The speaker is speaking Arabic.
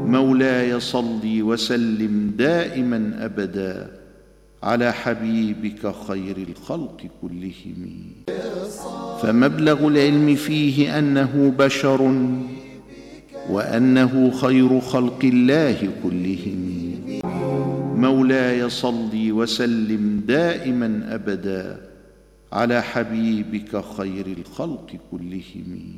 مولاي صل وسلم دائما أبدا على حبيبك خير الخلق كلهم. فمبلغ العلم فيه أنه بشر وأنه خير خلق الله كلهم. مولاي صل وسلم دائما أبدا على حبيبك خير الخلق كلهم.